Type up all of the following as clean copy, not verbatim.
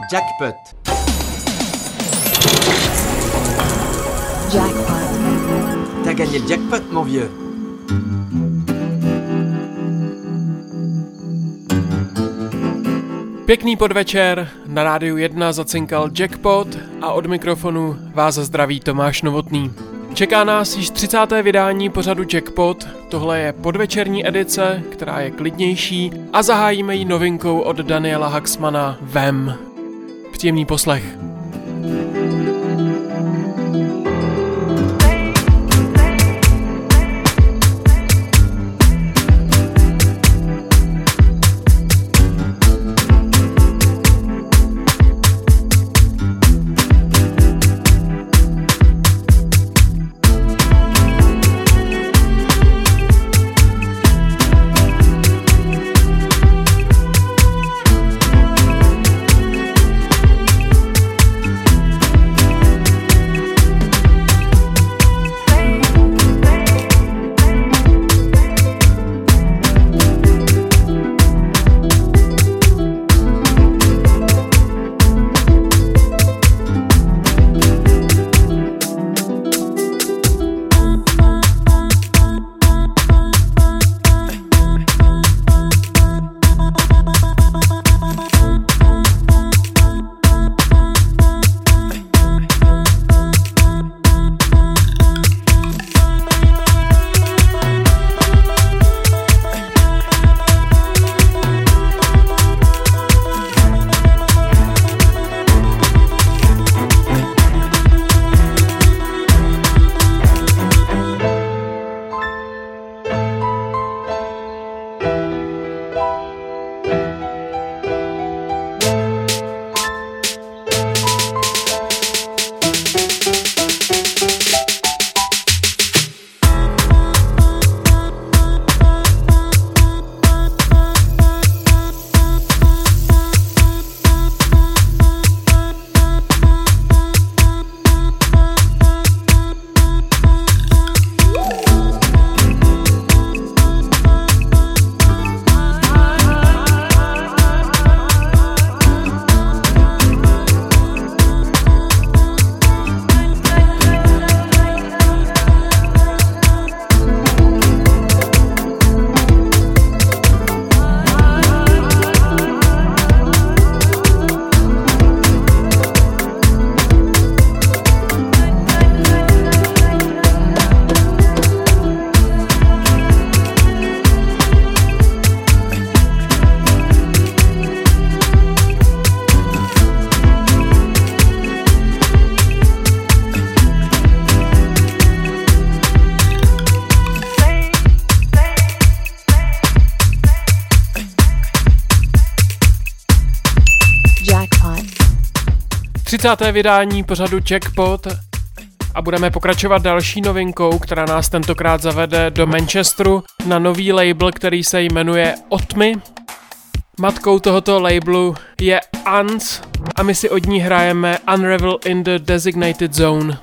Jackpot. Jackpot. T'as gagné le jackpot, mon vieux. Pěkný podvečer, na Rádiu 1 zacinkal Jackpot a od mikrofonu vás zdraví Tomáš Novotný. Čeká nás již 30. vydání pořadu Jackpot, tohle je podvečerní edice, která je klidnější a zahájíme ji novinkou od Daniela Haxmana Vem. Příjemný poslech. Vydání pořadu Jackpot a budeme pokračovat další novinkou, která nás tentokrát zavede do Manchesteru na nový label, který se jmenuje Otmy. Matkou tohoto labelu je Ants a my si od ní hrajeme Unravel in the Designated Zone.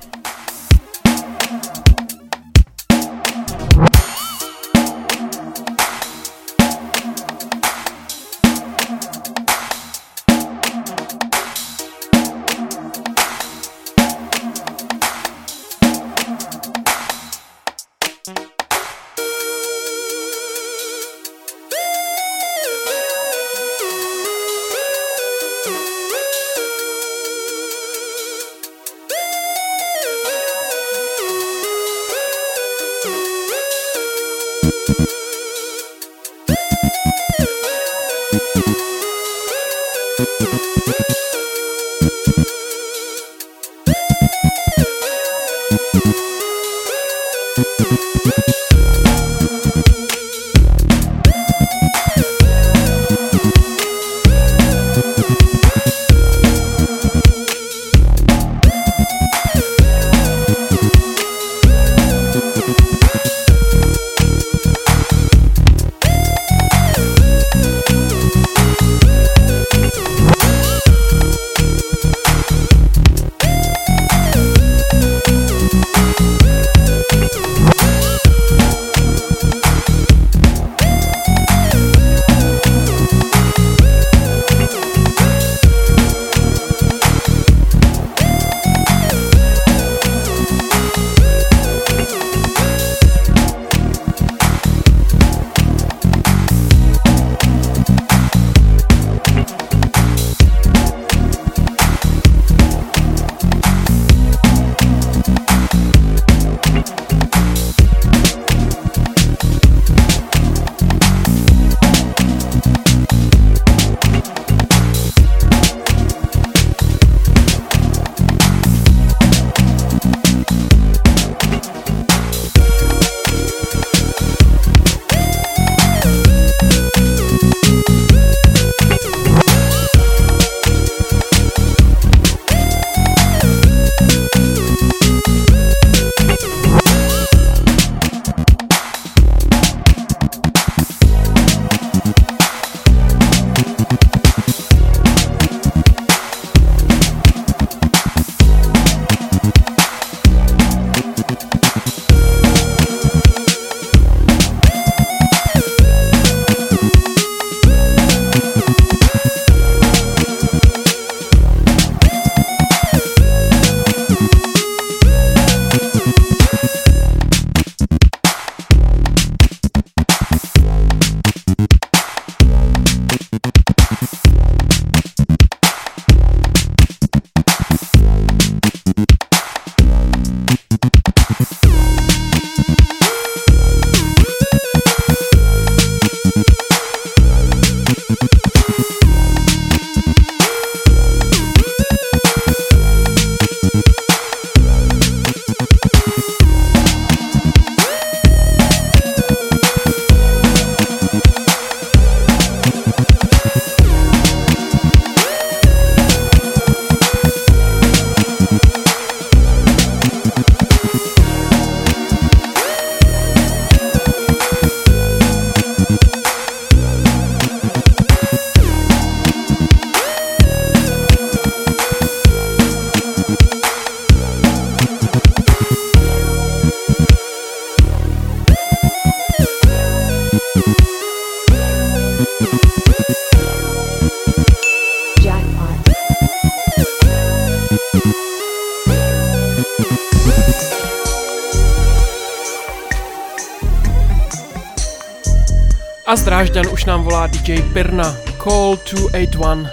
A z Drážďan už nám volá DJ Pirna. Call 281.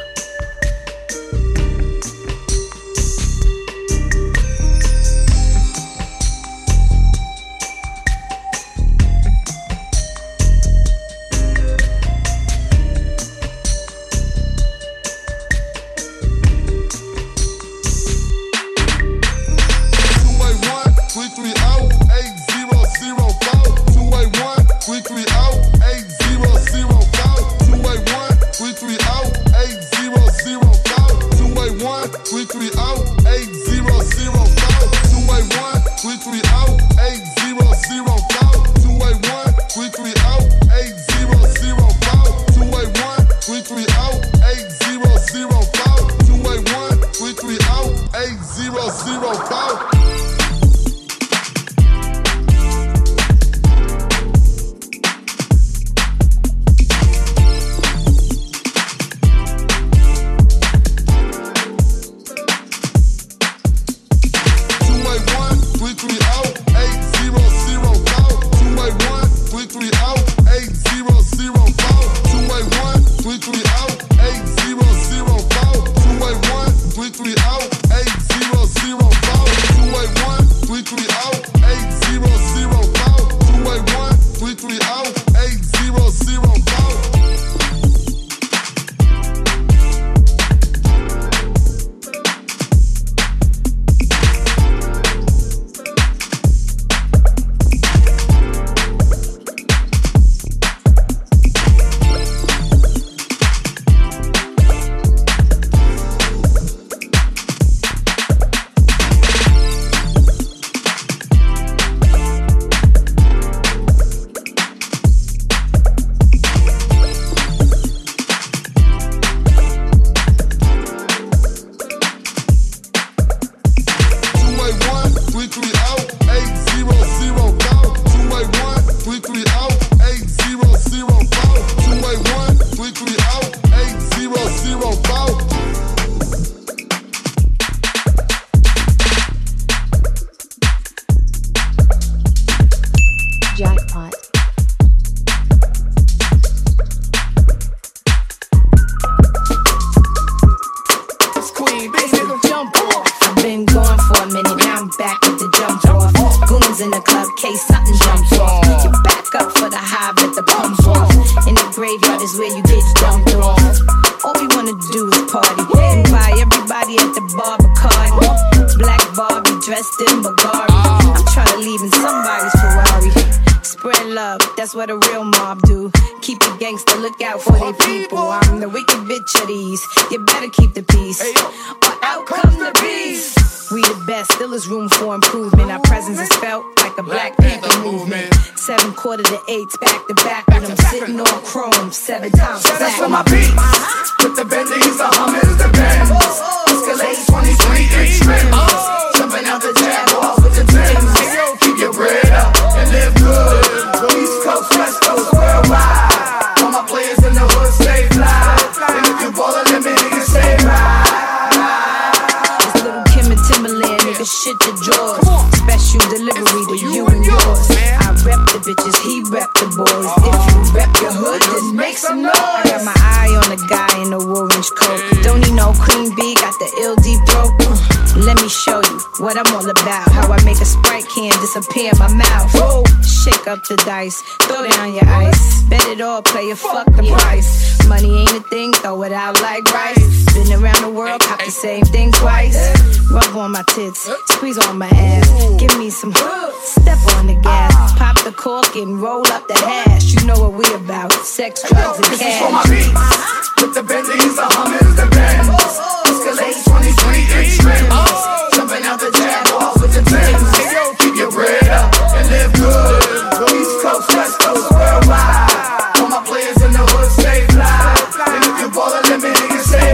The dice, throw down your ice, bet it all, play it, fuck the price. Money ain't a thing, throw it out like rice. Been around the world, cop the same thing twice. Rub on my tits, squeeze on my ass. Give me some, step on the gas. Pop the cork and roll up the hash. You know what we about, sex, drugs, and cash. This is for my beats, with the Bentleys, the Hummers, the Benz. Escalade 23-inch rims. Jumping out the Jaguars with the Benz. Keep your bread up and live good. East Coast, West Coast, worldwide. All my players in the hood stay fly. And if you ballin', let me nigga stay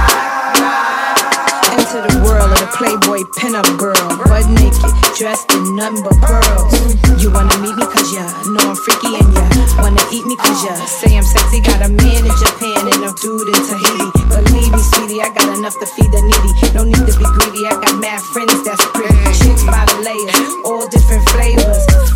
right. Into the world of the Playboy pinup girl, butt naked, dressed in nothing but pearls. You wanna meet me cause ya know I'm freaky and ya wanna eat me cause ya say I'm sexy. Got a man in Japan and a dude in Tahiti. Believe me, sweetie, I got enough to feed the needy. No need to be greedy, I got mad friends that's pretty. Chicks by the layers, all different flavors.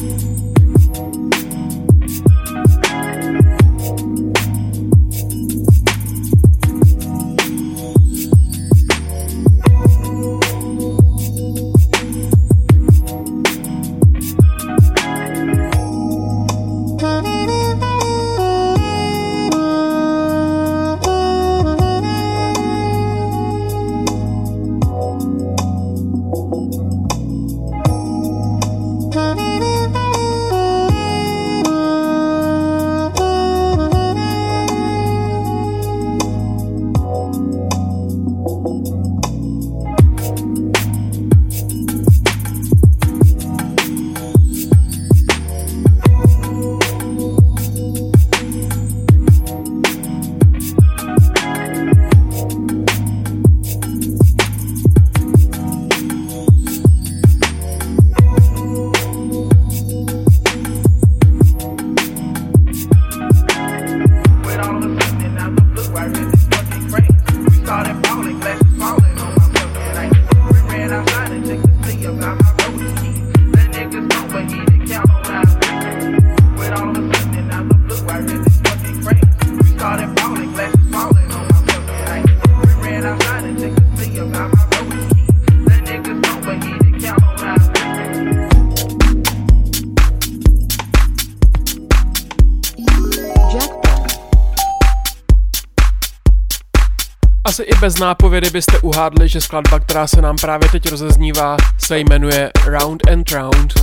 Asi i bez nápovědy byste uhádli, že skladba, která se nám právě teď rozeznívá, se jmenuje Round and Round.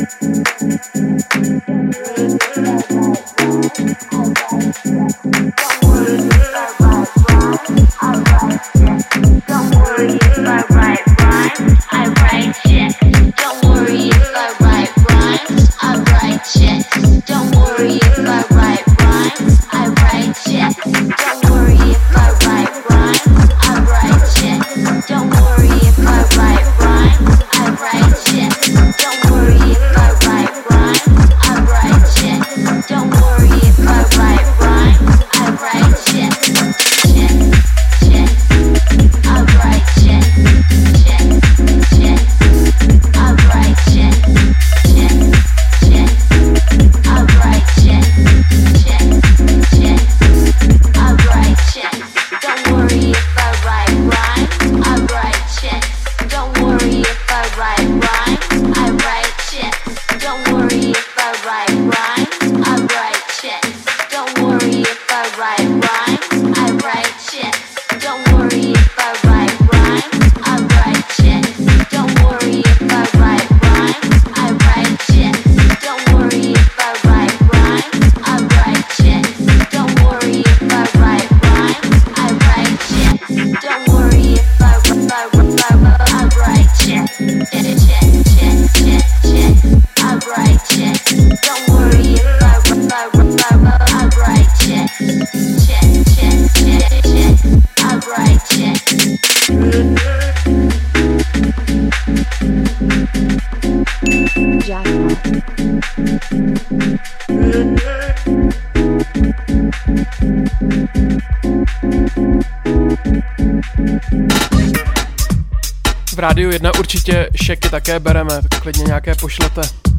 V Rádiu 1 určitě šeky také bereme, tak klidně nějaké pošlete.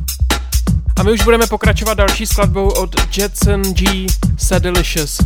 A my už budeme pokračovat další skladbou od Jetson G. Sadilicious.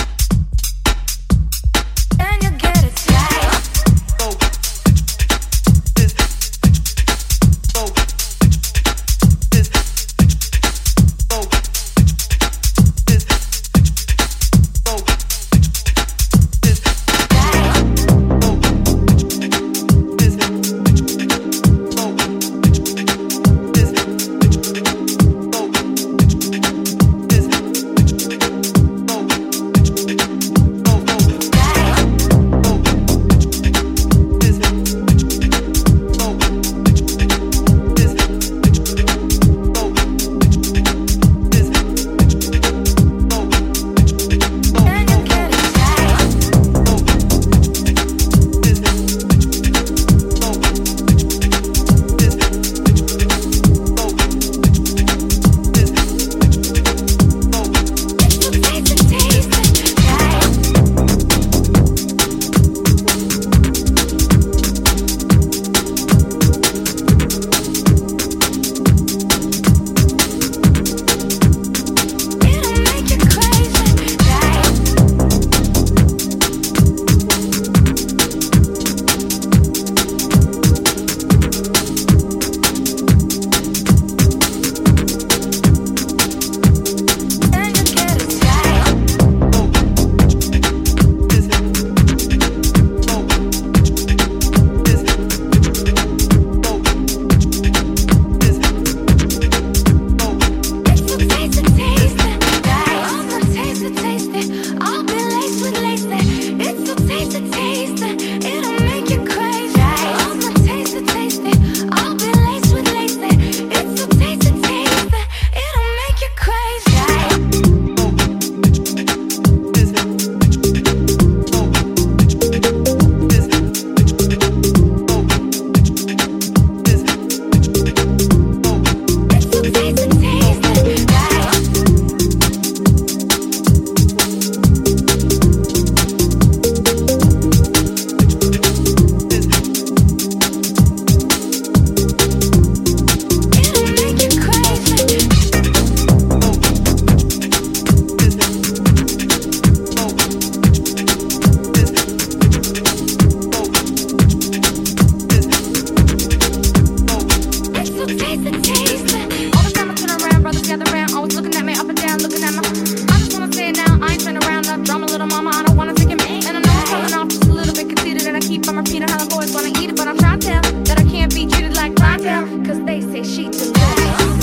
Peter Holland boys wanna eat it, but I'm trying to tell that I can't be treated like clientele, cause they say she too good.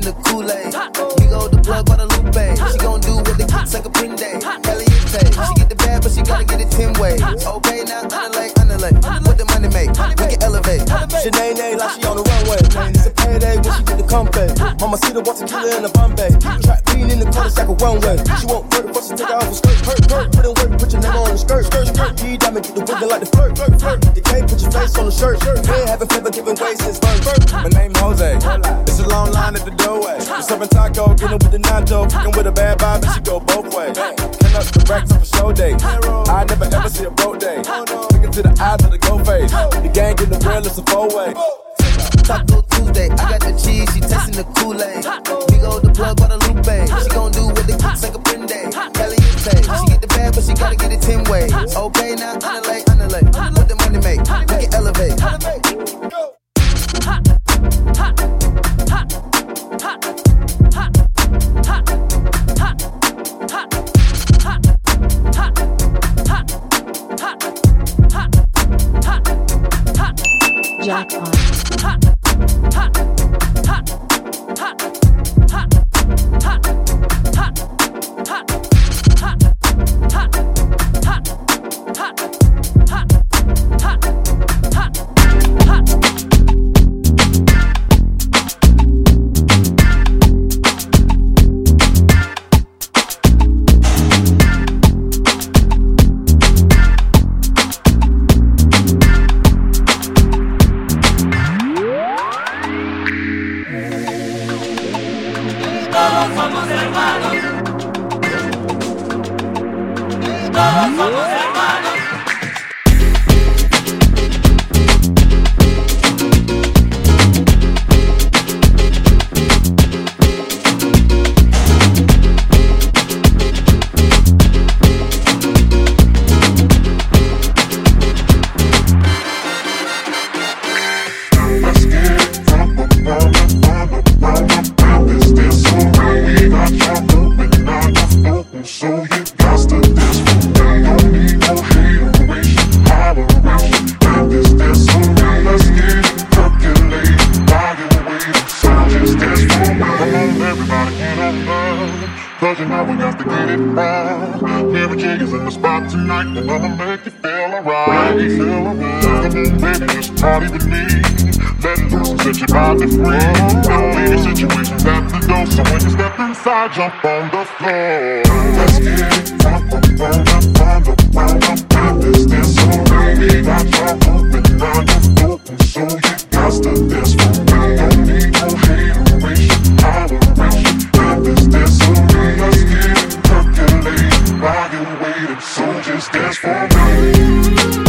the Kool-Aid. We go the plug by the Lupe. She gon' do what the kids like a Prinde. Caliente. She get the bad, but she gotta get it 10 ways. Okay, now underlay. What the money make? We can elevate. Sinead like she on the runway. It's a payday when she get the compay. Mama see the water killer in the Bombay. Trap bean in the corner, like a runway. She won't hurt it, but she take her off a skirt. Put in work, put your name on the skirt. G-diamond, get the wiggle like the flirt. You can't put your face on the shirt. Man, haven't ever given way since birth. My name Jose. It's a long line at the doorway. We're serving taco, getting with the nacho. Fucking with a bad vibe, and she go both ways. Turn up the racks up a show day. I never ever see a broke day. Look into the eyes of the go face. The gang in the real, it's a four-way. Taco Tuesday, I got the cheese, she tasting the Kool-Aid. We go the plug by the Lupe. She gon' do what the kids like a Prinde. Caliente. She get the bad, but she gotta get it 10 ways. Okay, now underlay. What the money make? We can elevate. Jackpot. Jump on the floor. Let's get it round up. This dance so we got you open, now you're open, so you got to dance for me. Don't need no hateration, holleration. And this dance so we let's get it percolating. While you're waiting, so just dance for me.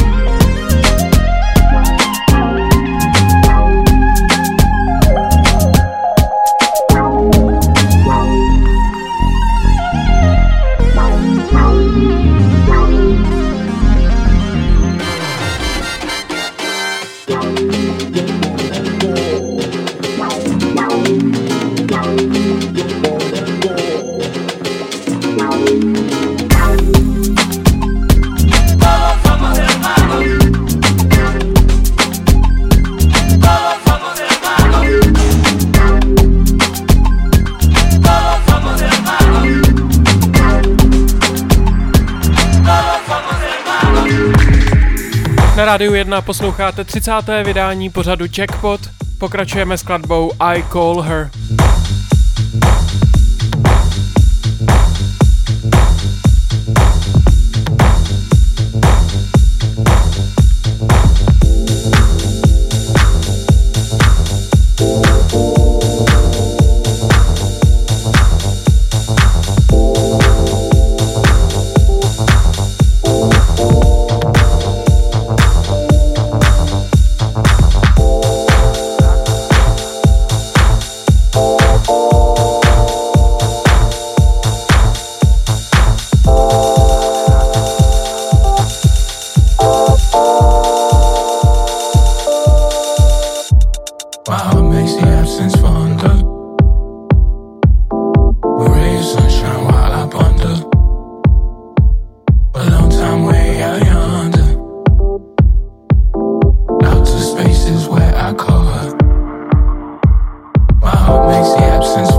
Na Rádiu 1 posloucháte 30. vydání pořadu Jackpot. Pokračujeme skladbou I Call Her. Makes the absence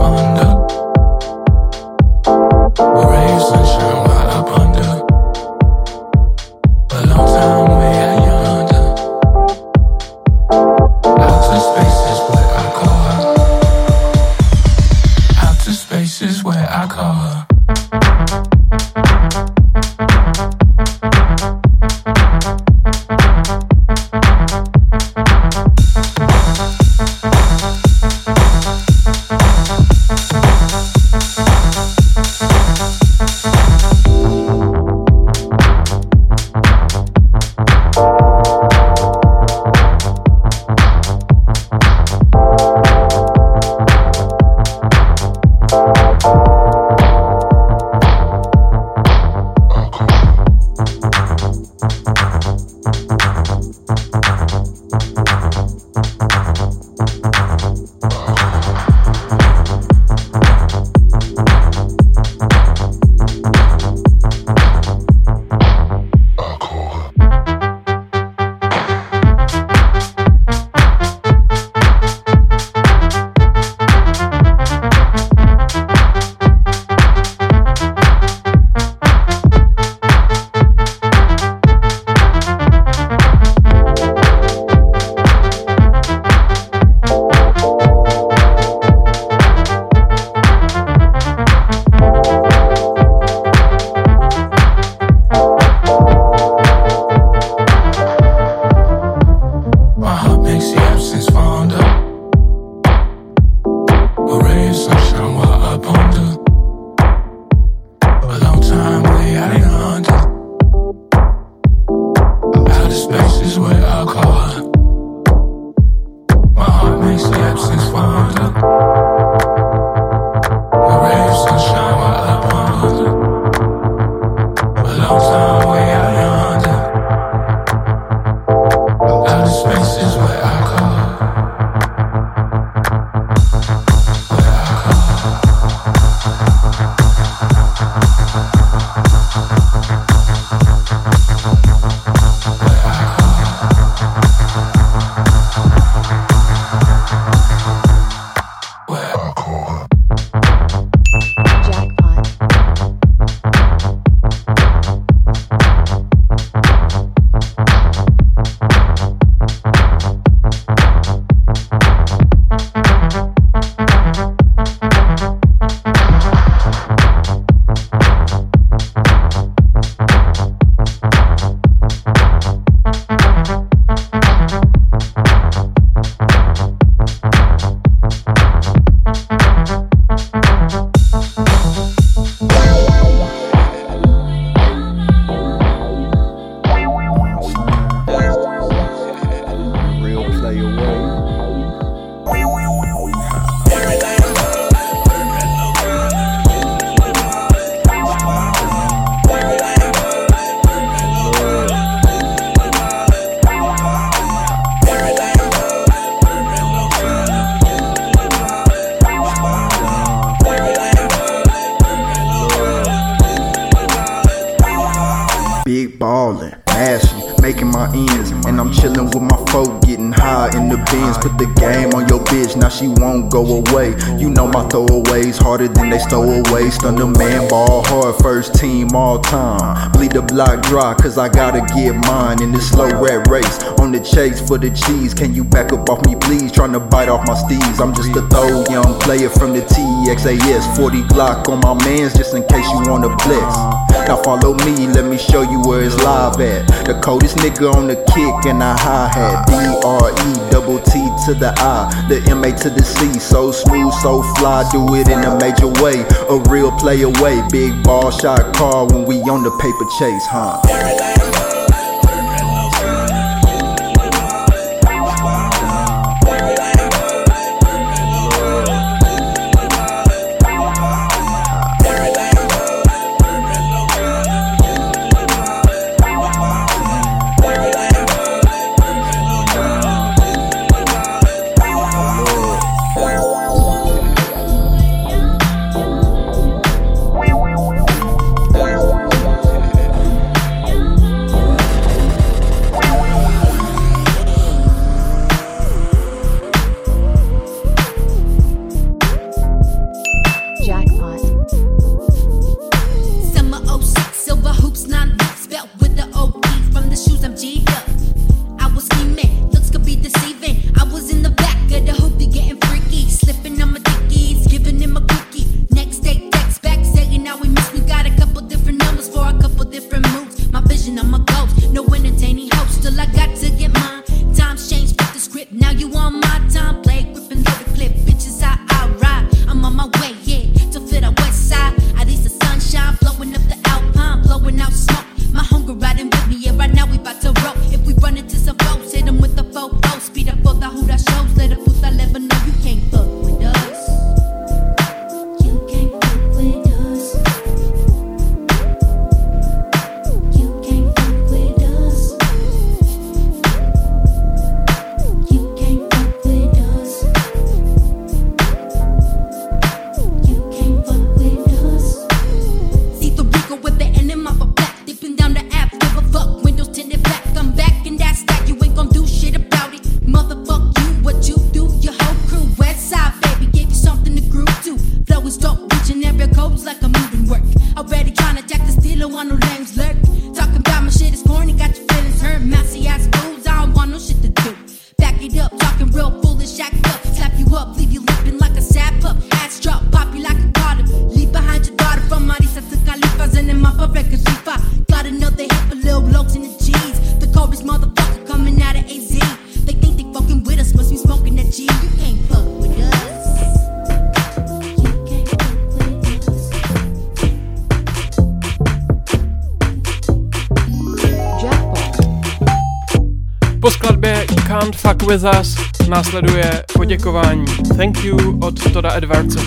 ballin', mashing, making my ends, and I'm chillin' with my folk, getting high in the bins. Put the game on your bitch, now she won't go away. You know my throwaways harder than they stowaways. Stun the man, ball hard, first team all time. Bleed the block dry, cause I gotta get mine in this slow rat race. On the chase for the cheese, can you back up off me please? Tryna bite off my steez. I'm just a throw young player from the TXAS. 40 Glock on my mans just in case you wanna flex. Now follow me, let me show you where it's live at. The coldest nigga on the kick and a hi-hat. D-R-E-T-T to the I, the M-A to the C. So smooth, so fly, do it in a major way. A real play away, big ball shot call when we on the paper chase, huh? Po skladbě You Can't Fuck With Us následuje poděkování Thank You od Toda Edwardse.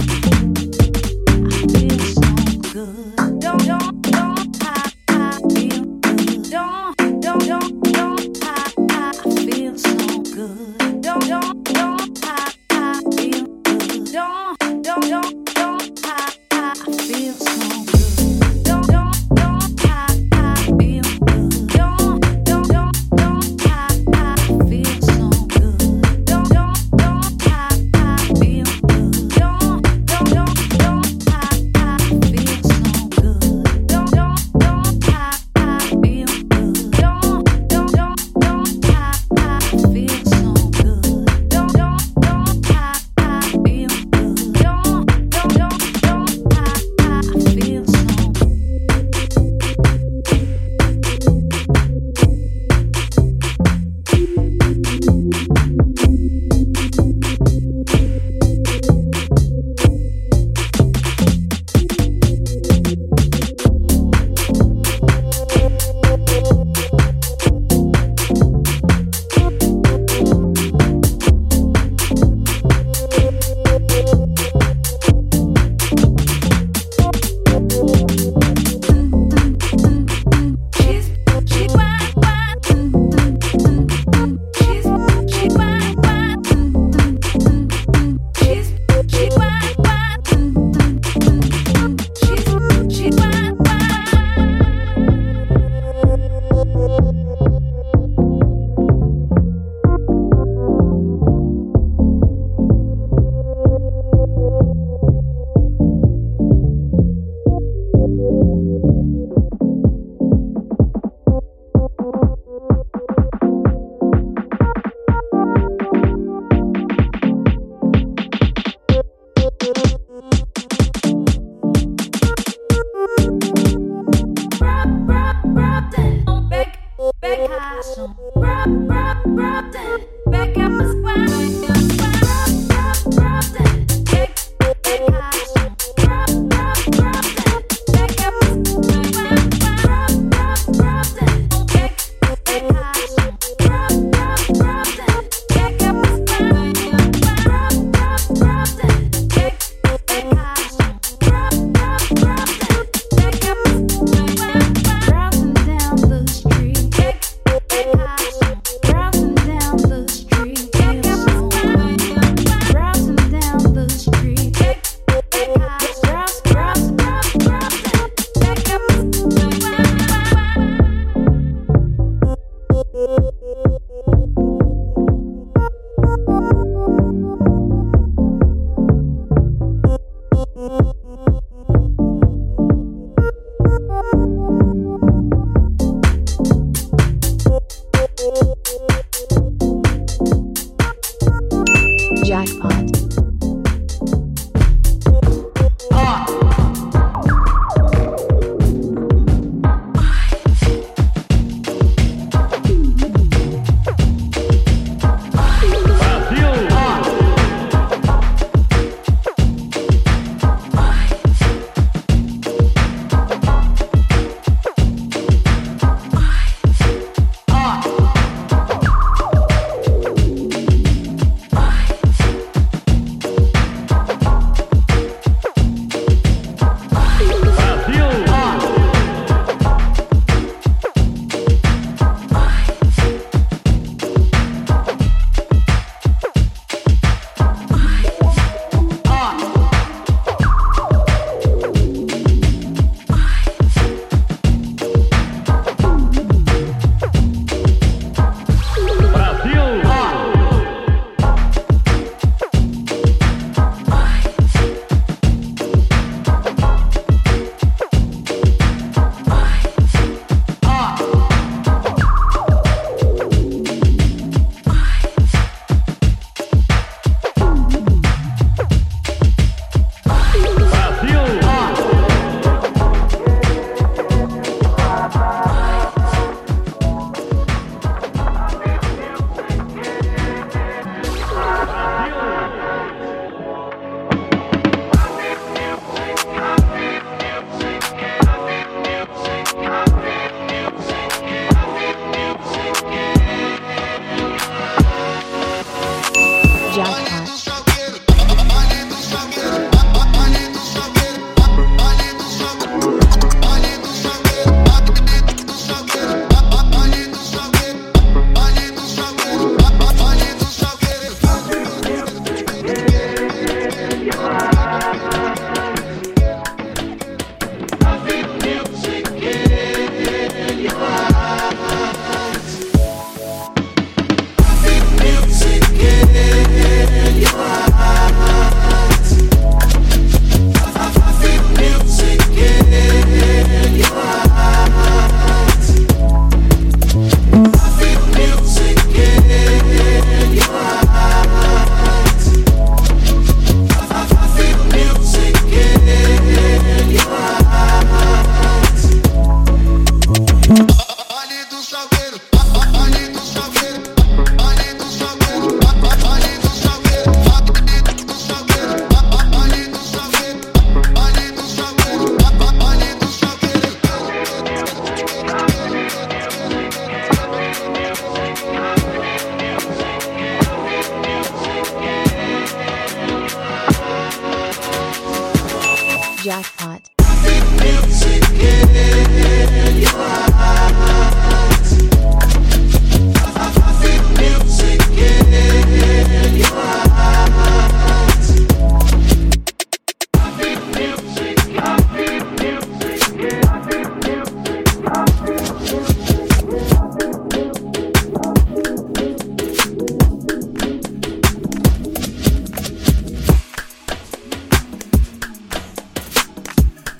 Don't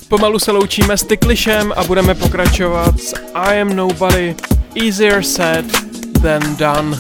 Pomalu se loučíme s Ticklishem a budeme pokračovat s I Am Nobody, Easier Said Than Done.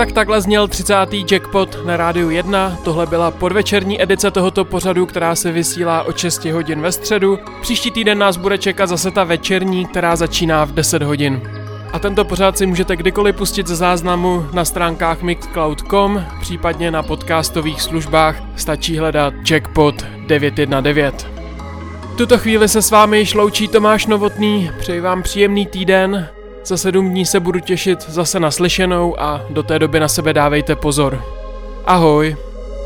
Tak takhle zněl 30. Jackpot na Rádiu 1. Tohle byla podvečerní edice tohoto pořadu, která se vysílá od 6 hodin ve středu. Příští týden nás bude čekat zase ta večerní, která začíná v 10 hodin. A tento pořad si můžete kdykoliv pustit ze záznamu na stránkách mixcloud.com, případně na podcastových službách stačí hledat Jackpot 919. V tuto chvíli se s vámi již loučí Tomáš Novotný, přeji vám příjemný týden, za 7 dní se budu těšit zase na slyšenou a do té doby na sebe dávejte pozor. Ahoj.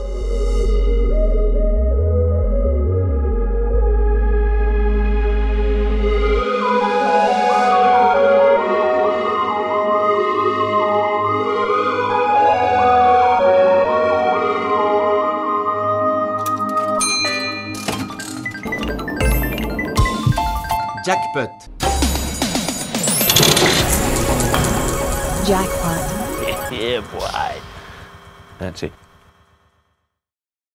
Jackpot. Jackpot. Yeah, boy. That's it.